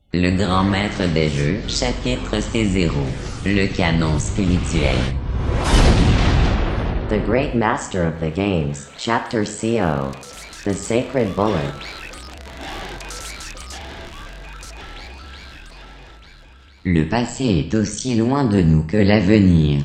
Le grand maître des jeux, chapitre C0. Le canon spirituel. The great master of the games, chapter CO. The sacred bullet. Le passé est aussi loin de nous que l'avenir.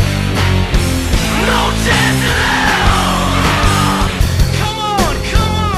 Come on, come on.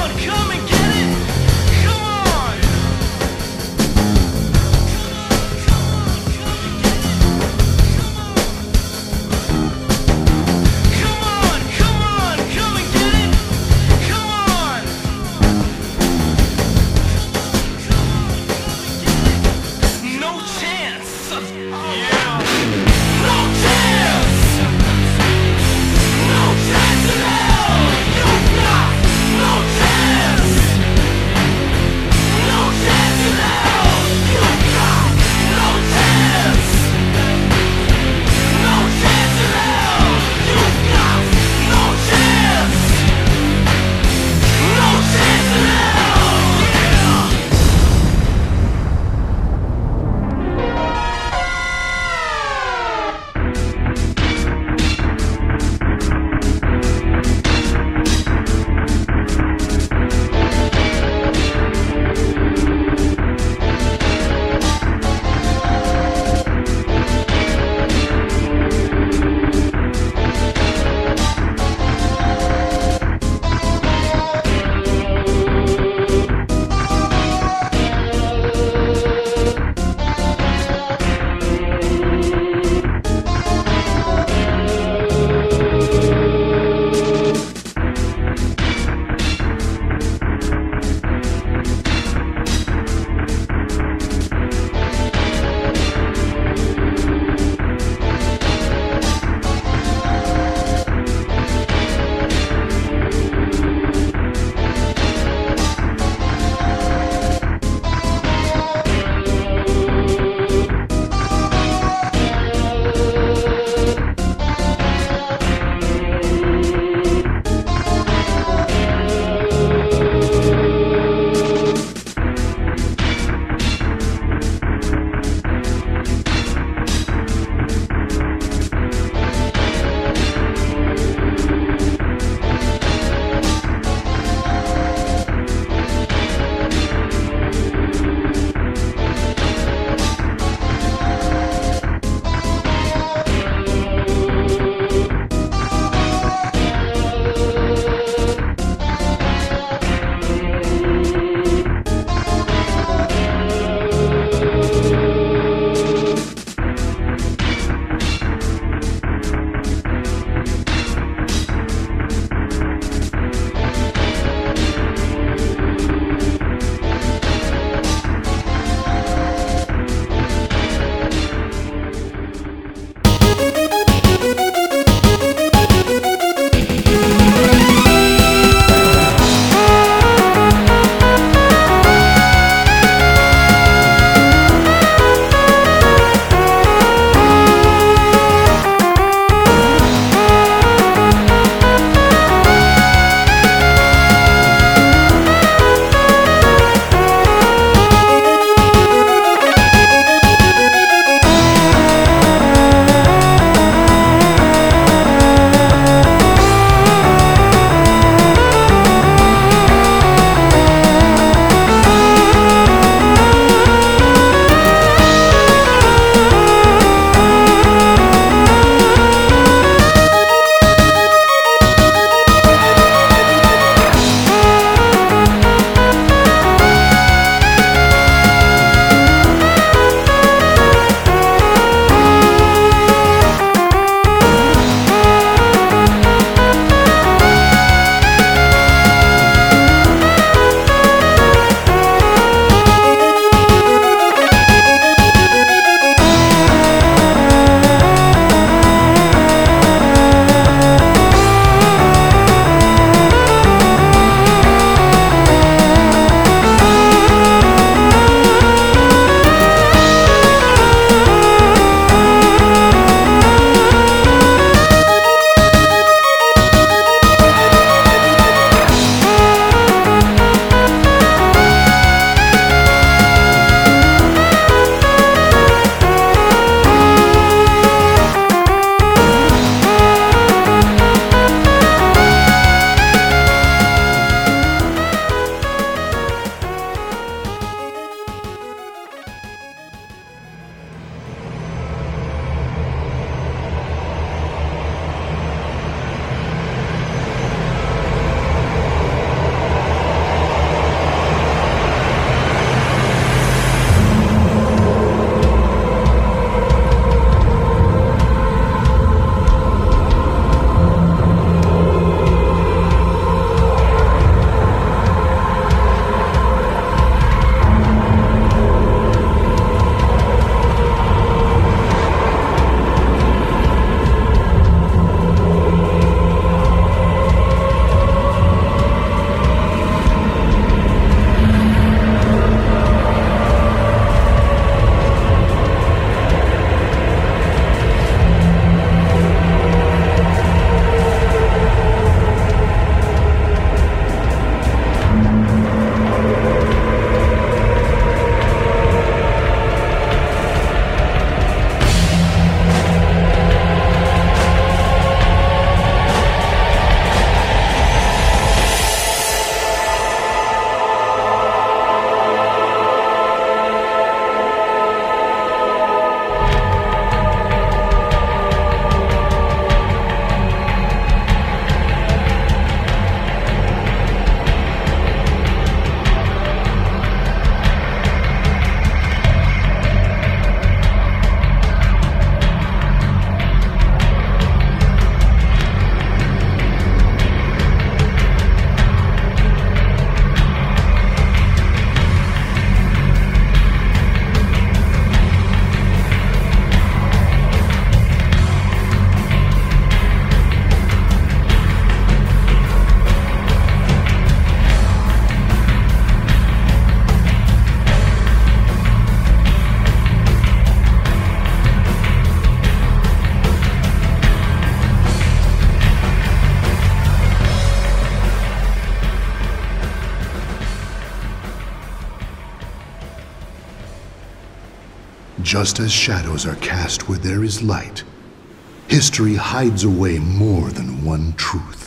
Just as shadows are cast where there is light, history hides away more than one truth.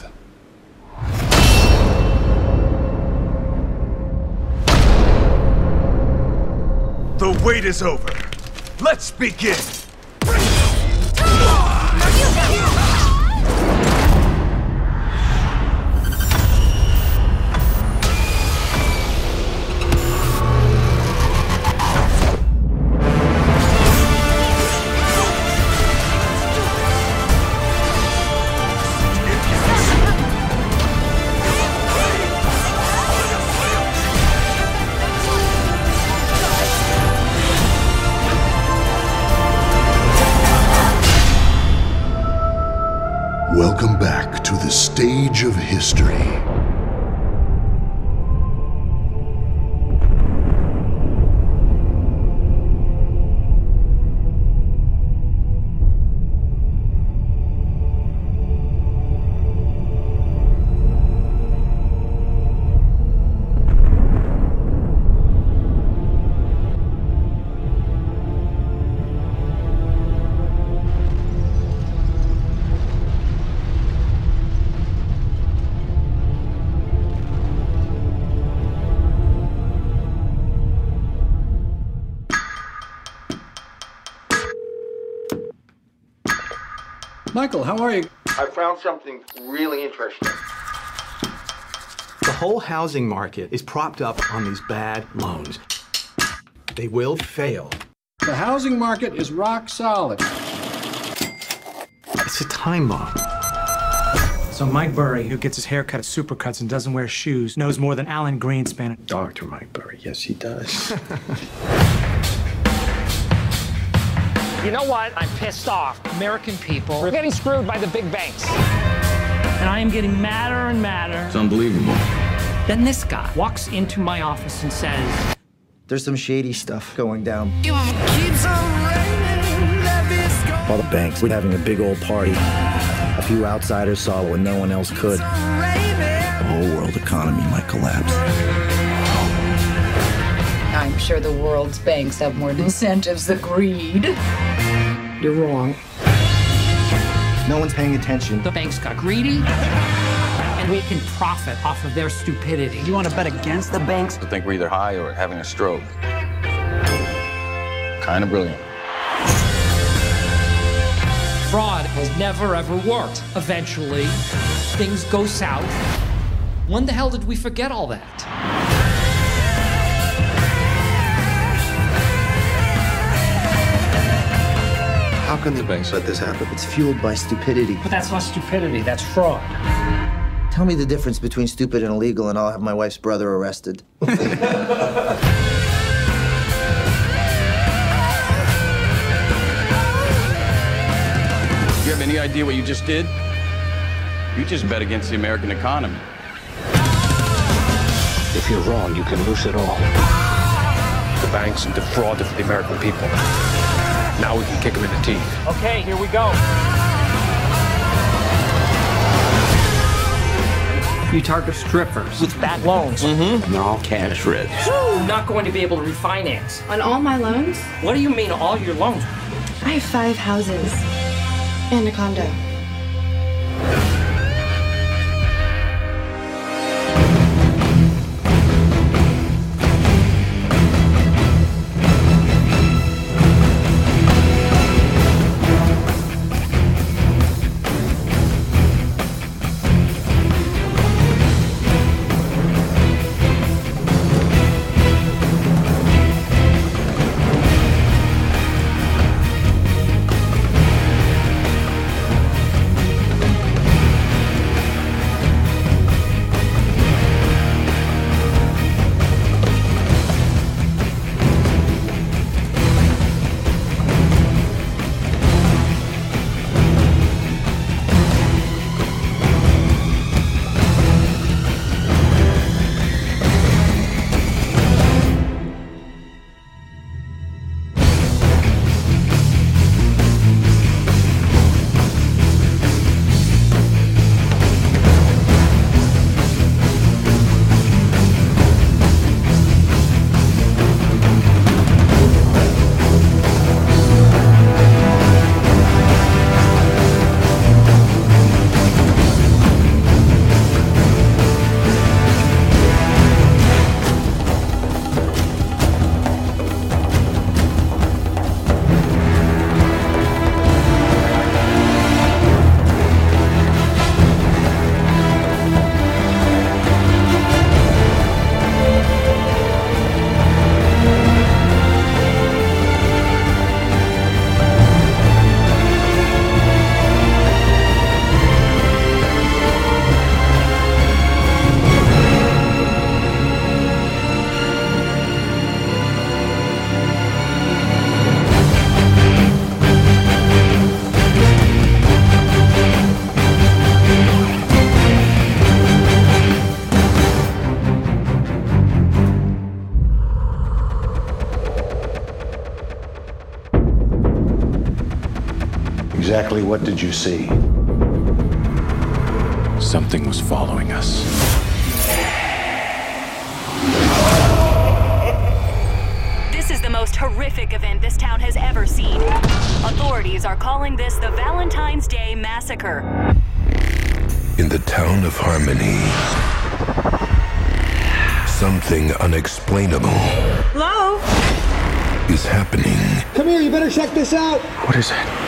The wait is over. Let's begin! Welcome back to the stage of history. Michael, how are you? I found something really interesting. The whole housing market is propped up on these bad loans. They will fail. The housing market is rock solid. It's a time bomb. So Mike Burry, who gets his hair cut at Supercuts and doesn't wear shoes, knows more than Alan Greenspan. Dr. Mike Burry, yes, he does. You know what? I'm pissed off. American people are getting screwed by the big banks. And I am getting madder and madder. It's unbelievable. Then this guy walks into my office and says, there's some shady stuff going down. All the banks were having a big old party. A few outsiders saw what no one else could. The whole world economy might collapse. I'm sure the world's banks have more incentives than greed. you're wrong. No one's paying attention. The banks got greedy, and we can profit off of their stupidity. You want to bet against the banks? I think we're either high or having a stroke. Kind of brilliant. Fraud has never, ever worked. Eventually, things go south. When the hell did we forget all that? How can the banks let this happen? It's fueled by stupidity. But that's not stupidity, that's fraud. Tell me the difference between stupid and illegal, and I'll have my wife's brother arrested. You have any idea what you just did? You just bet against the American economy. If you're wrong, you can lose it all. The banks defrauded the American people. Now we can kick them in the teeth. Okay, here we go. You target strippers with bad loans. And they're all cash rich. Not going to be able to refinance. On all my loans? What do you mean, all your loans? I have 5 houses and a condo. Exactly what did you see? Something was following us. This is the most horrific event this town has ever seen. Authorities are calling this the Valentine's Day Massacre. In the town of Harmony, something unexplainable Hello? is happening. Come here, you better check this out. What is it?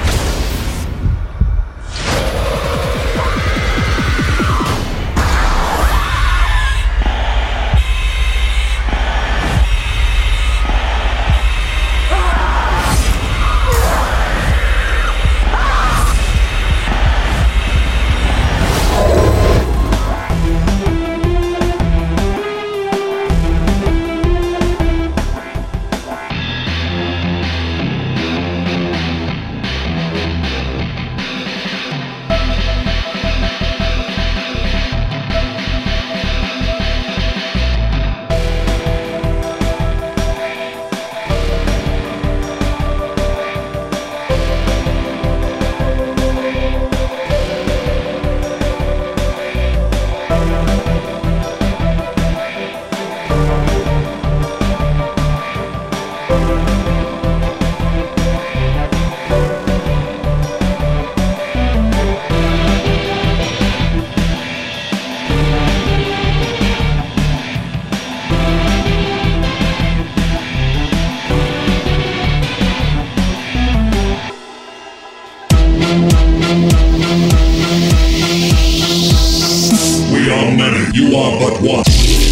We are many, you are but one.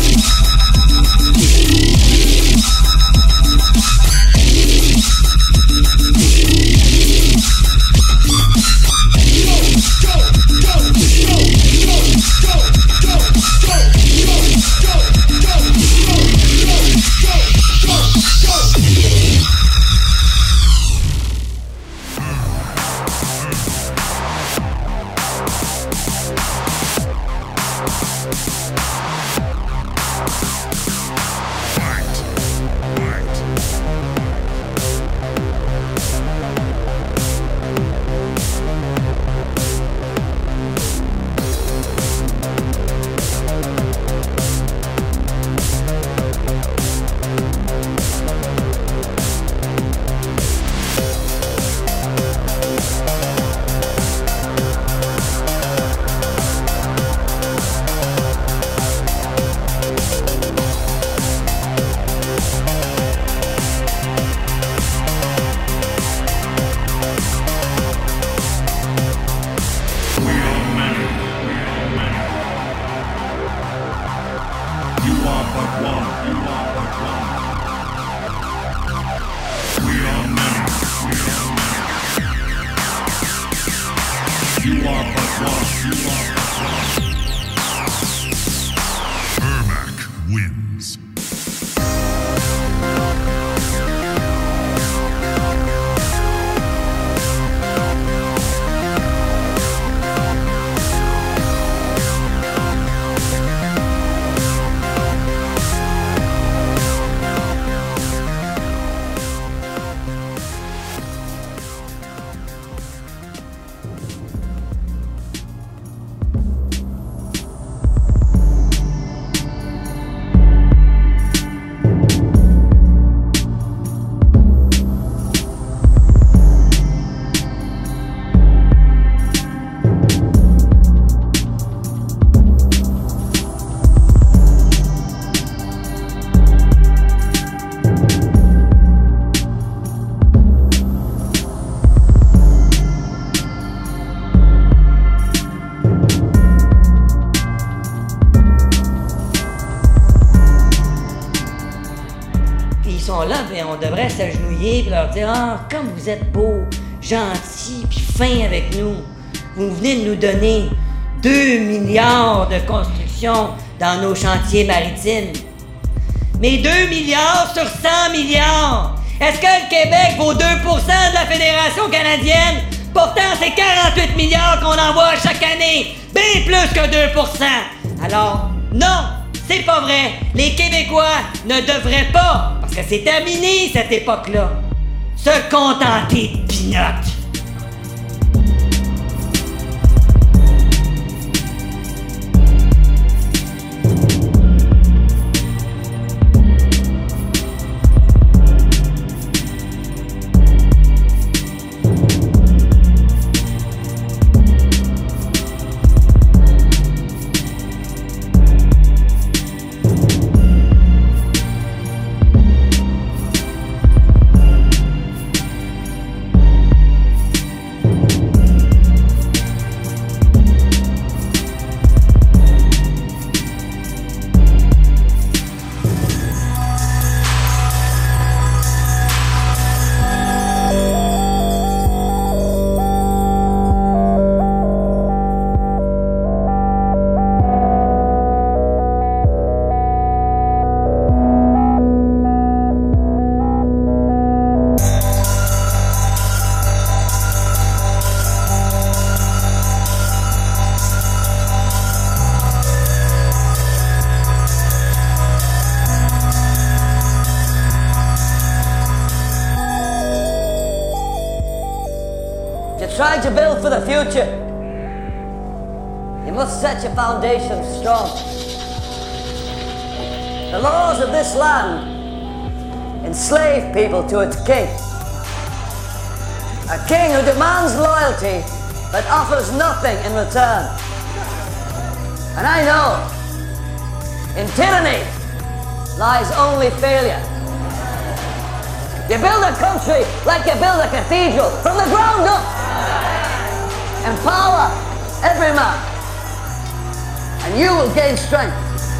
On devrait s'agenouiller et leur dire « Ah, comme vous êtes beaux, gentils puis fins avec nous, vous venez de nous donner 2 milliards de construction dans nos chantiers maritimes. Mais 2 milliards sur 100 milliards! Est-ce que le Québec vaut 2% de la Fédération canadienne? Pourtant, c'est 48 milliards qu'on envoie chaque année! Bien plus que 2%! Alors, non! C'est pas vrai! Les Québécois ne devraient pas, parce que c'est terminé cette époque-là, se contenter de pinottes! try to build for the future, you must set your foundations strong. The laws of this land enslave people to its king. A king who demands loyalty but offers nothing in return. And I know, in tyranny lies only failure. You build a country like you build a cathedral from the ground up. Empower every man, and you will gain strength.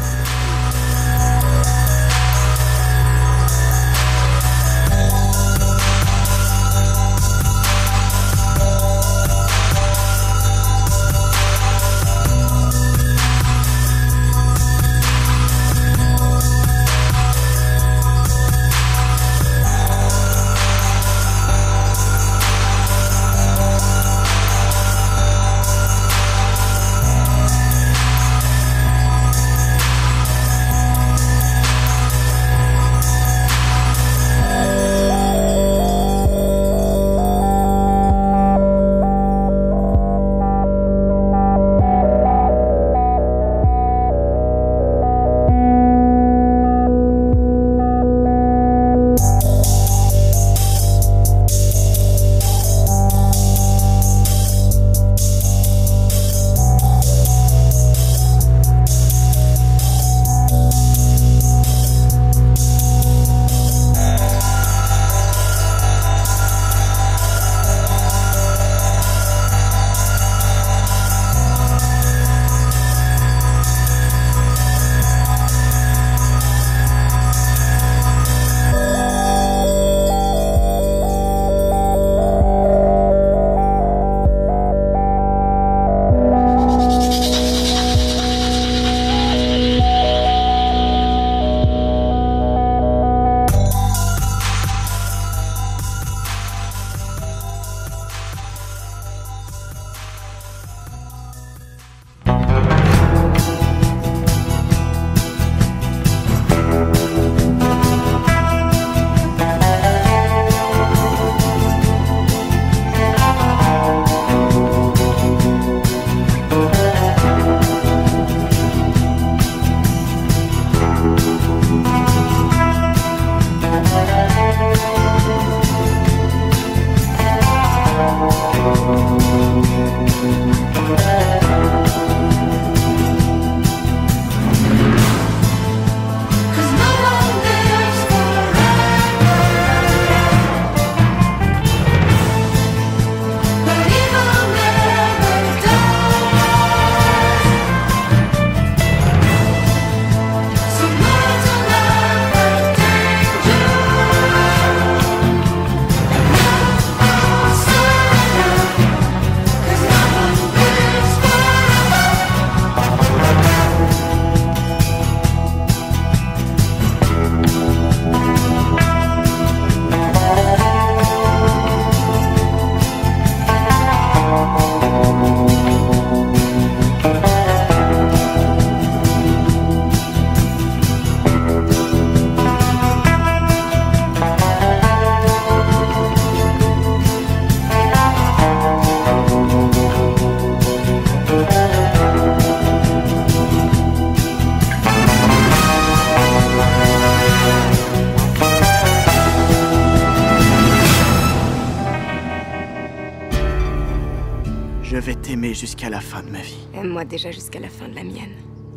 Je vais t'aimer jusqu'à la fin de ma vie. Aime-moi déjà jusqu'à la fin de la mienne.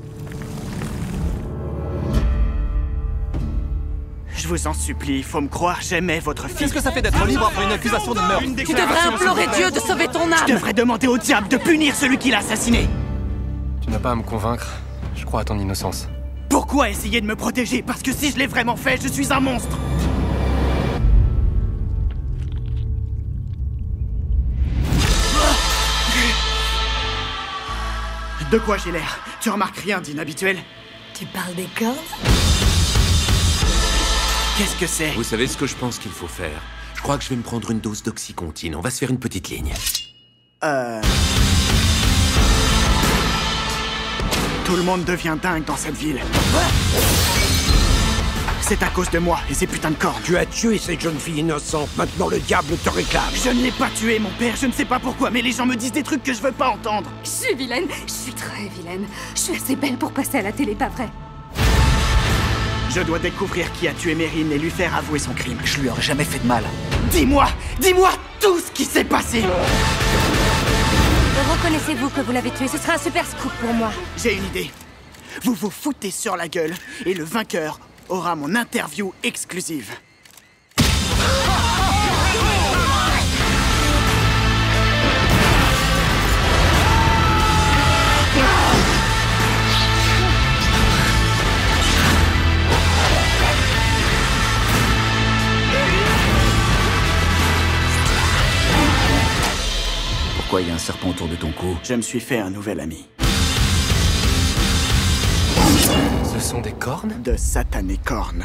Je vous en supplie, il faut me croire, j'aimais votre fille. Qu'est-ce que ça fait d'être libre après une accusation de meurtre? Tu devrais implorer Dieu de sauver ton âme. Je devrais demander au diable de punir celui qui l'a assassiné. Tu n'as pas à me convaincre. Je crois à ton innocence. Pourquoi essayer de me protéger? Parce que si je l'ai vraiment fait, je suis un monstre. De quoi j'ai l'air? Tu remarques rien d'inhabituel? Tu parles des cordes? Qu'est-ce que c'est? Vous savez ce que je pense qu'il faut faire? Je crois que je vais me prendre une dose d'oxycontine. On va se faire une petite ligne. Tout le monde devient dingue dans cette ville. C'est à cause de moi et ces putains de cornes. Tu as tué cette jeune fille innocente, maintenant le diable te réclame. Je ne l'ai pas tué, mon père, je ne sais pas pourquoi, mais les gens me disent des trucs que je veux pas entendre. Je suis vilaine, je suis très vilaine. Je suis assez belle pour passer à la télé, pas vrai? Je dois découvrir qui a tué Mérine et lui faire avouer son crime. Je lui aurais jamais fait de mal. Dis-moi tout ce qui s'est passé. Reconnaissez-vous que vous l'avez tué? Ce sera un super scoop pour moi. J'ai une idée. Vous vous foutez sur la gueule et le vainqueur aura mon interview exclusive. Pourquoi il y a un serpent autour de ton cou? Je me suis fait un nouvel ami. Ce sont des cornes? De satanées cornes.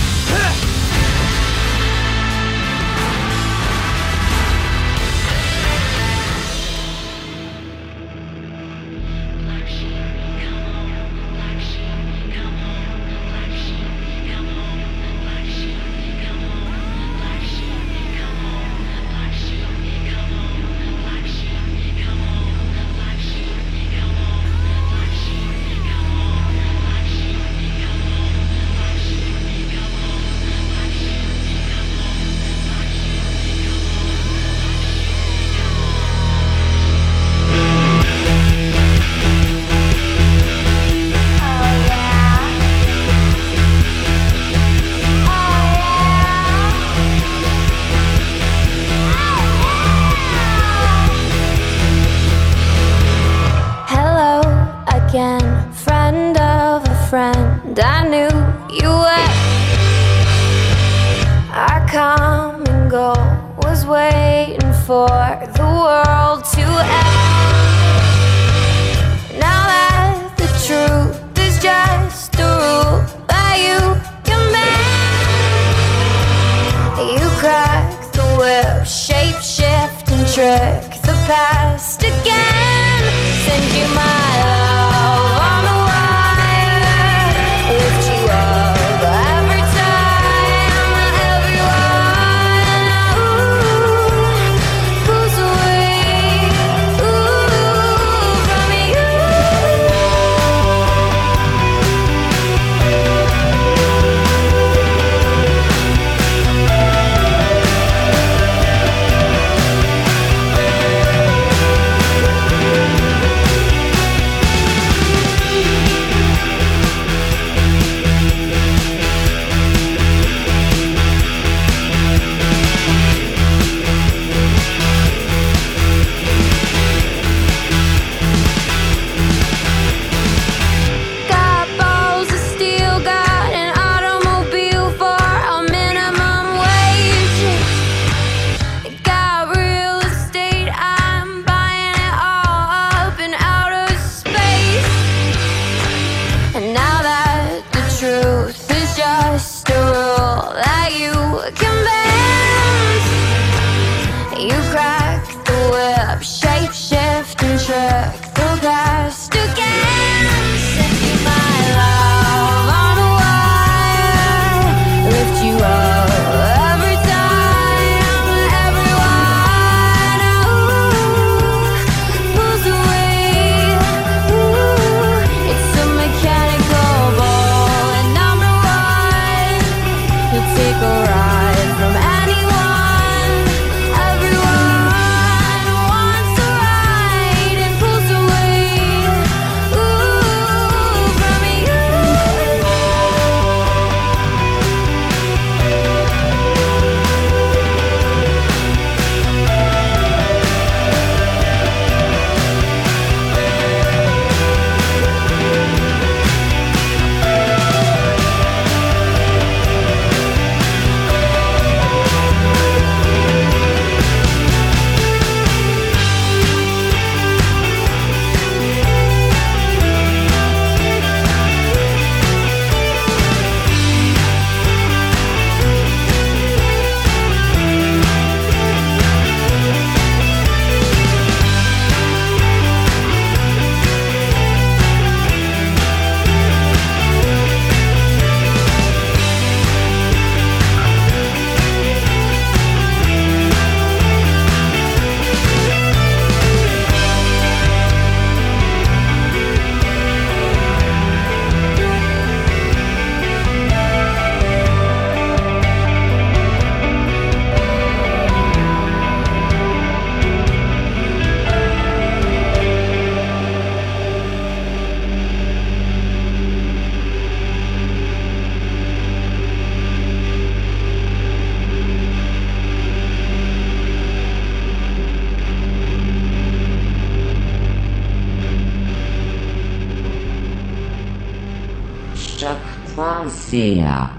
Friend, I knew you were. Our common goal was waiting for the world to end. Now that the truth is just a rule that you can bend, you crack the whip, shape shift and trick the past again. Send you my love on the lift you up every time, everyone pulls away from you. .ca.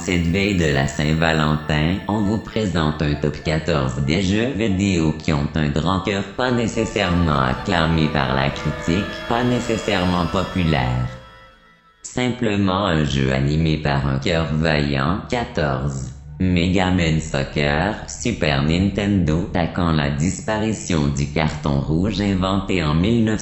cette veille de la Saint-Valentin, on vous présente un top 14 des jeux vidéo qui ont un grand cœur, pas nécessairement acclamé par la critique, pas nécessairement populaire. Simplement un jeu animé par un cœur vaillant. 14. Mega Man Soccer, Super Nintendo, attaquant la disparition du carton rouge inventé en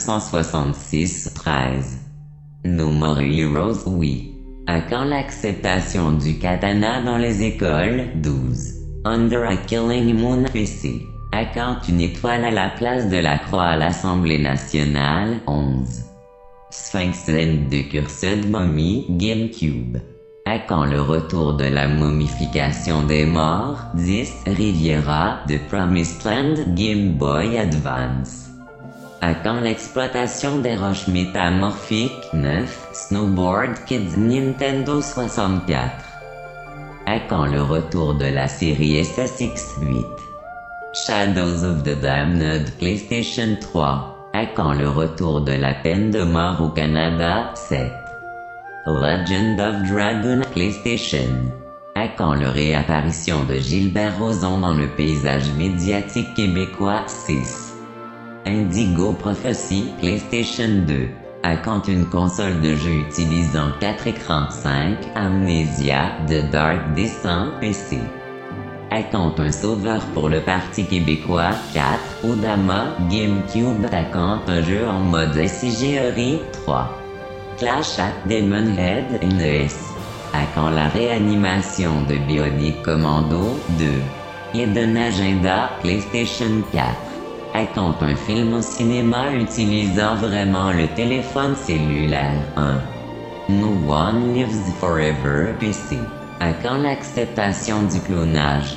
1966. 13. No More Heroes, oui. À quand l'acceptation du katana dans les écoles? 12. Under a Killing Moon PC. À quand une étoile à la place de la croix à l'Assemblée nationale? 11. Sphinx Land de Cursed Mummy, GameCube. À quand le retour de la momification des morts? 10. Riviera, de Promised Land, Game Boy Advance. À quand l'exploitation des roches métamorphiques? 9. Snowboard Kids, Nintendo 64. À quand le retour de la série SSX? 8. Shadows of the Damned, PlayStation 3. À quand le retour de la peine de mort au Canada? 7. Legend of Dragon, PlayStation. À quand la réapparition de Gilbert Rozon dans le paysage médiatique québécois? 6. Indigo Prophecy, PlayStation 2. À quand une console de jeu utilisant 4 écrans? 5. Amnesia, The Dark Descent, PC. À quand un sauveur pour le Parti québécois? 4. Odama, GameCube. À quand un jeu en mode SIGERI? 3. Clash at Demonhead, NES. À quand la réanimation de Bionic Commando? 2. Hidden Agenda, PlayStation 4. À quand un film au cinéma utilisant vraiment le téléphone cellulaire? 1. No One Lives Forever, PC. À quand l'acceptation du clonage?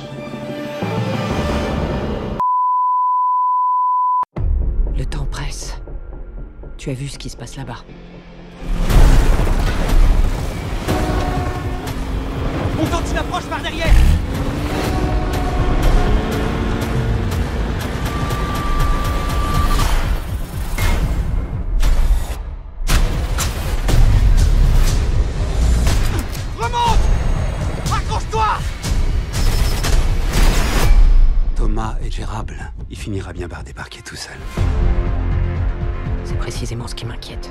Le temps presse. Tu as vu ce qui se passe là-bas? On tente une approche par derrière! Remonte! Accroche-toi! Thomas est gérable. Il finira bien par débarquer tout seul. C'est précisément ce qui m'inquiète.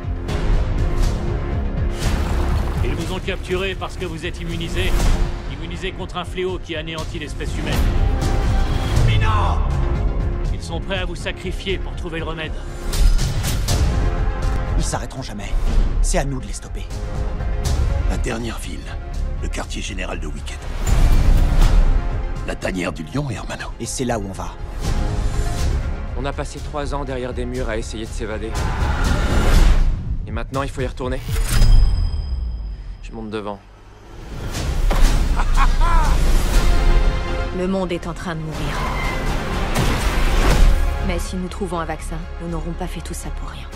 Ils vous ont capturé parce que vous êtes immunisé. Immunisé contre un fléau qui anéantit l'espèce humaine. Mais non! Ils sont prêts à vous sacrifier pour trouver le remède. Ils s'arrêteront jamais. C'est à nous de les stopper. La dernière ville, le quartier général de Wicked. La tanière du lion, Hermano. Et c'est là où on va. On a passé 3 ans derrière des murs à essayer de s'évader. Et maintenant, il faut y retourner. Je monte devant. Le monde est en train de mourir. Mais si nous trouvons un vaccin, nous n'aurons pas fait tout ça pour rien.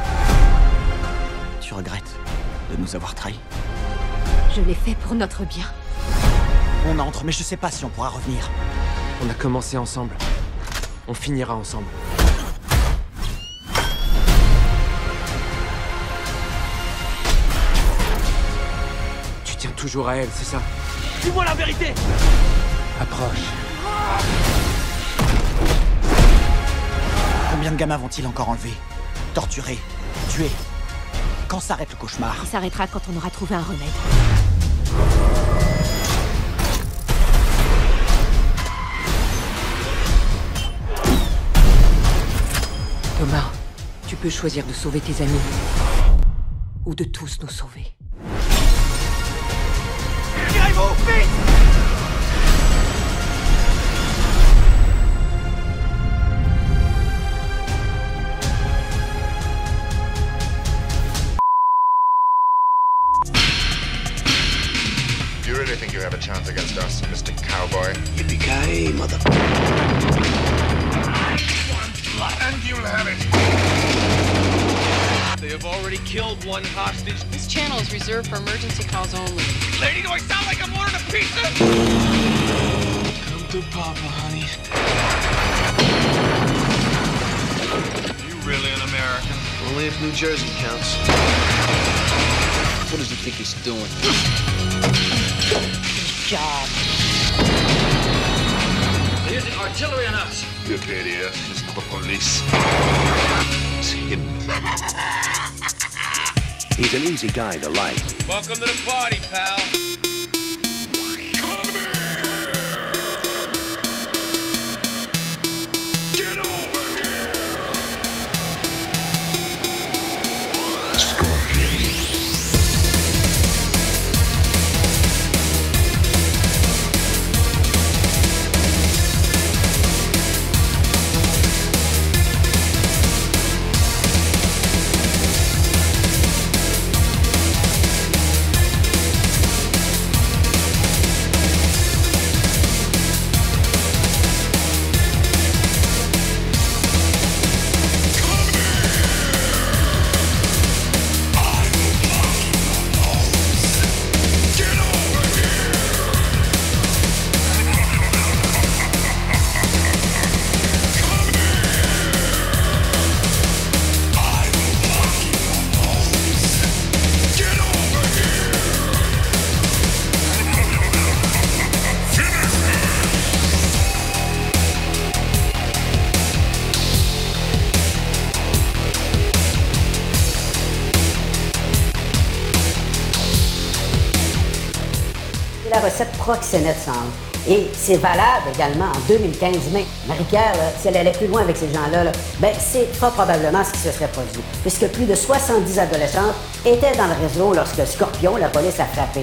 Tu regrettes de nous avoir trahis? Je l'ai fait pour notre bien. On entre, mais je sais pas si on pourra revenir. On a commencé ensemble. On finira ensemble. Tu tiens toujours à elle, c'est ça? Dis-moi la vérité! Approche. Combien de gamins vont-ils encore enlever? Torturer? Tuer? Quand s'arrête le cauchemar? Il s'arrêtera quand on aura trouvé un remède. Thomas, tu peux choisir de sauver tes amis. Ou de tous nous sauver. Tirez-vous, vite! Do you really think you have a chance against us, Mr. Cowboy? Yippee-ki-yay, mother... And you'll have it. They have already killed one hostage. This channel is reserved for emergency calls only. Lady, do I sound like I'm ordering a pizza? Come to Papa, honey. You really an American? Only if New Jersey counts. What does he think he's doing? job. They're using artillery on us. You idiot. It's not the police. It's him. He's an easy guy to like. Welcome to the party, pal. La recette proxénète semble. Et c'est valable également en 2015. Mais Marie-Pierre, si elle allait plus loin avec ces gens-là, ben c'est fort probablement ce qui se serait produit. Puisque plus de 70 adolescentes étaient dans le réseau lorsque Scorpion, la police, a frappé.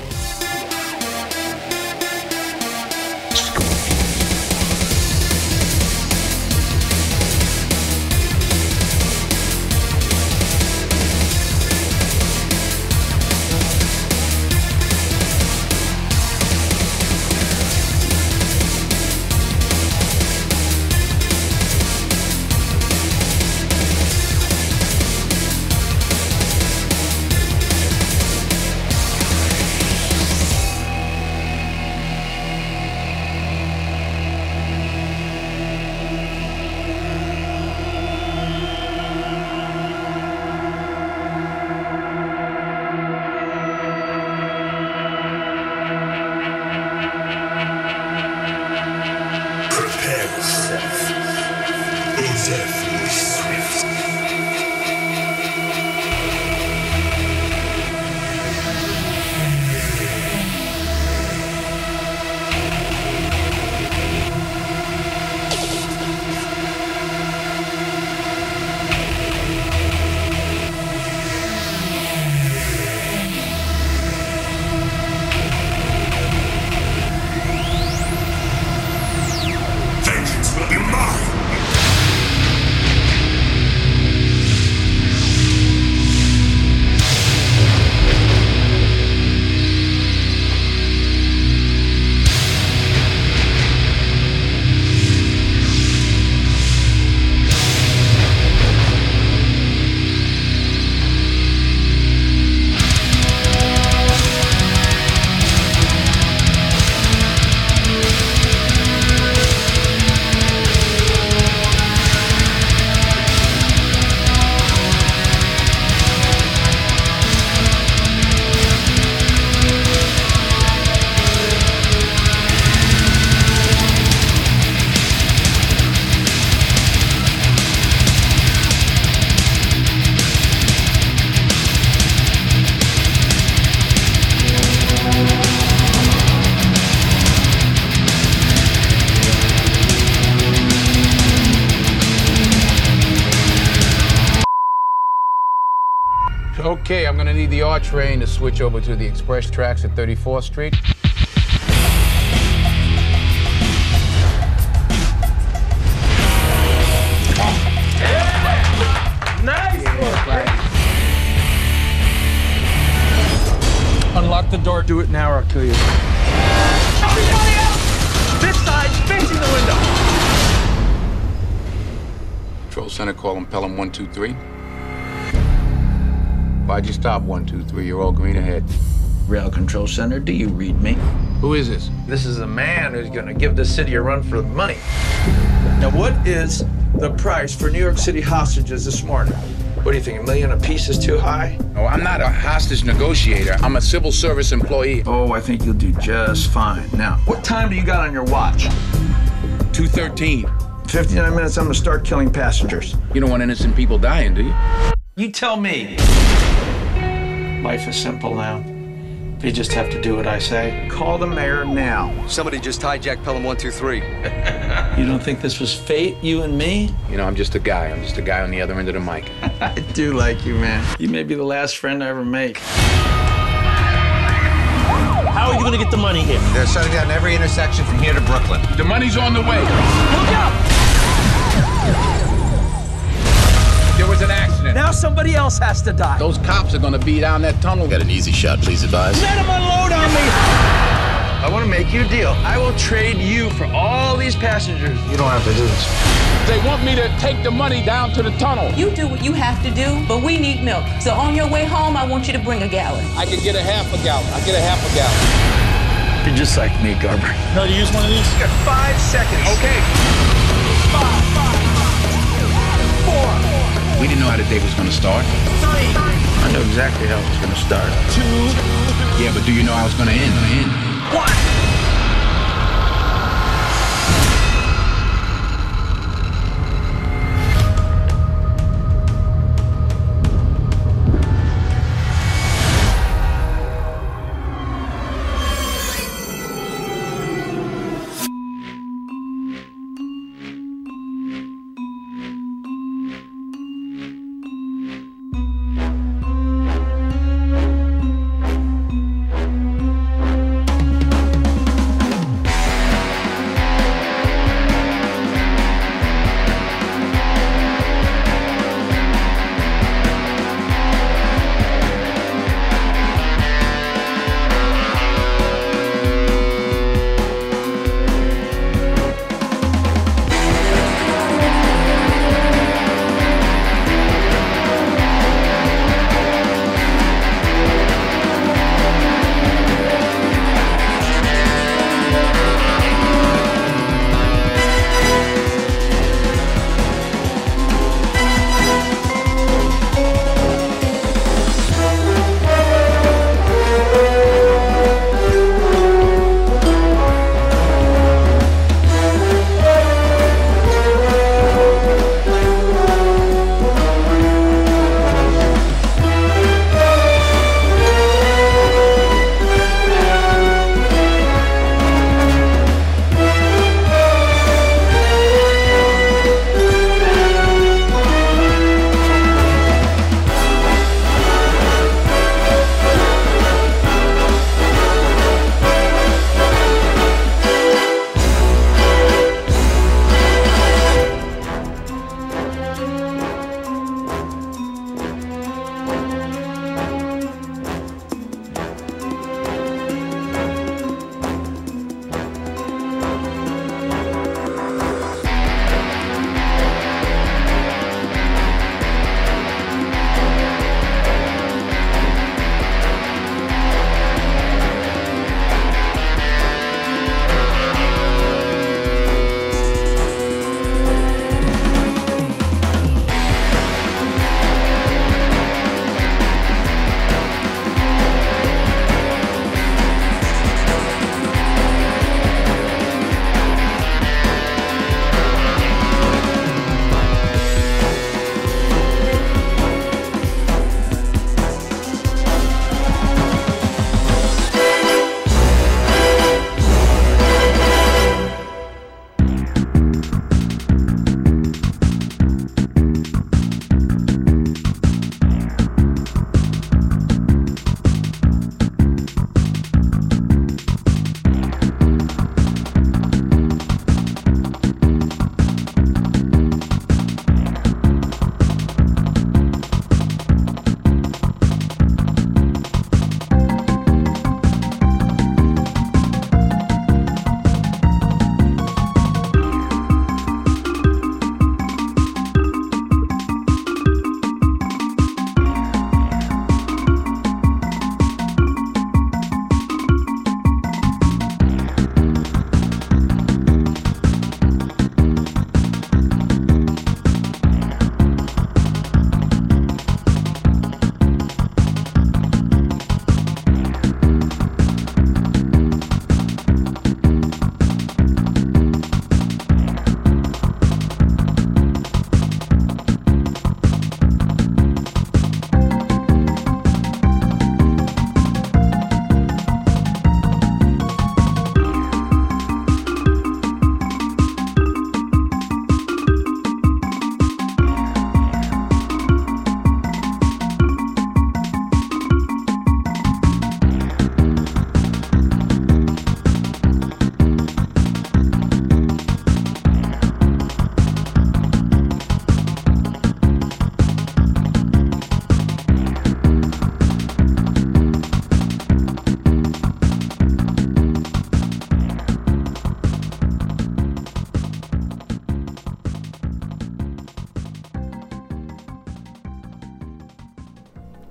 Okay, I'm gonna need the R train to switch over to the express tracks at 34th Street. Nice one! Unlock the door, do it now or I'll kill you. Everybody out! This side's facing the window! Control center, call him Pelham 123. Why'd you stop 123? You're all green ahead. Rail Control Center, do you read me? Who is this? This is a man who's gonna give the city a run for the money. Now, what is the price for New York City hostages this morning? What do you think, $1 million a piece is too high? Oh, I'm not a hostage negotiator. I'm a civil service employee. Oh, I think you'll do just fine. Now, what time do you got on your watch? 2:13. 59 minutes, I'm gonna start killing passengers. You don't want innocent people dying, do you? You tell me. Life is simple now. You just have to do what I say. Call the mayor now. Somebody just hijacked Pelham 123. You don't think this was fate, you and me? You know, I'm just a guy. I'm just a guy on the other end of the mic. I do like you, man. You may be the last friend I ever make. How are you gonna get the money here? They're shutting down every intersection from here to Brooklyn. The money's on the way. Look out! There was an accident. Now somebody else has to die. Those cops are gonna be down that tunnel. Got an easy shot, please advise. Let him unload on me! I want to make you a deal. I will trade you for all these passengers. You don't have to do this. They want me to take the money down to the tunnel. You do what you have to do, but we need milk. So on your way home, I want you to bring a gallon. I can get a half a gallon. I get a half a gallon. You're just like me, Garber. No, you use one of these? You got 5 seconds. Okay. 5, 4. We didn't know how the day was gonna start. 3. I know exactly how it's gonna start. 2. Yeah, but do you know how it's gonna end? 1.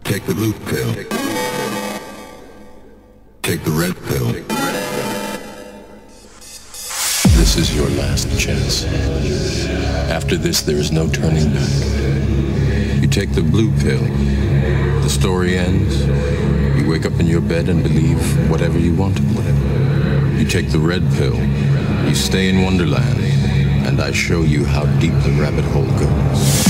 Take the blue pill. Take the red pill. This is your last chance. After this, there is no turning back. You take the blue pill. The story ends. You wake up in your bed and believe whatever you want to believe. You take the red pill. You stay in Wonderland, and I show you how deep the rabbit hole goes.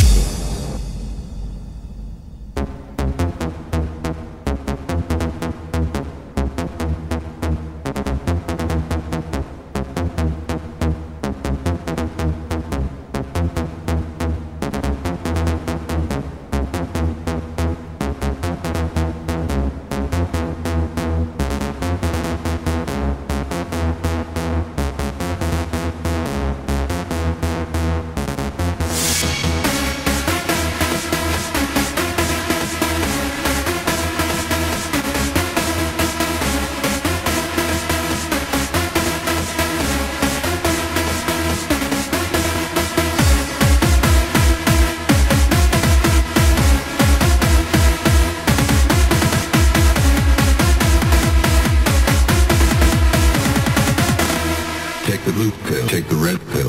Take the blue pill. Take the red pill.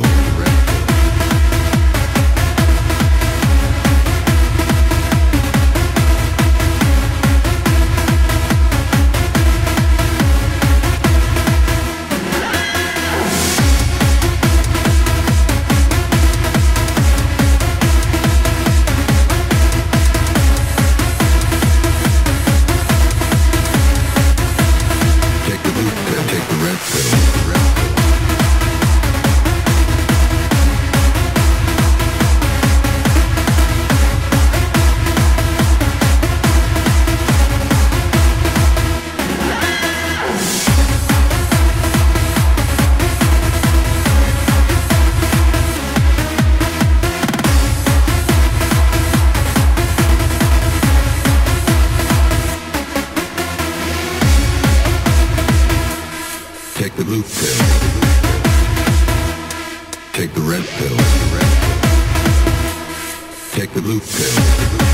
Take the blue pill. Take the red pill. Take the blue pill. Take the red pill. Take the blue pill.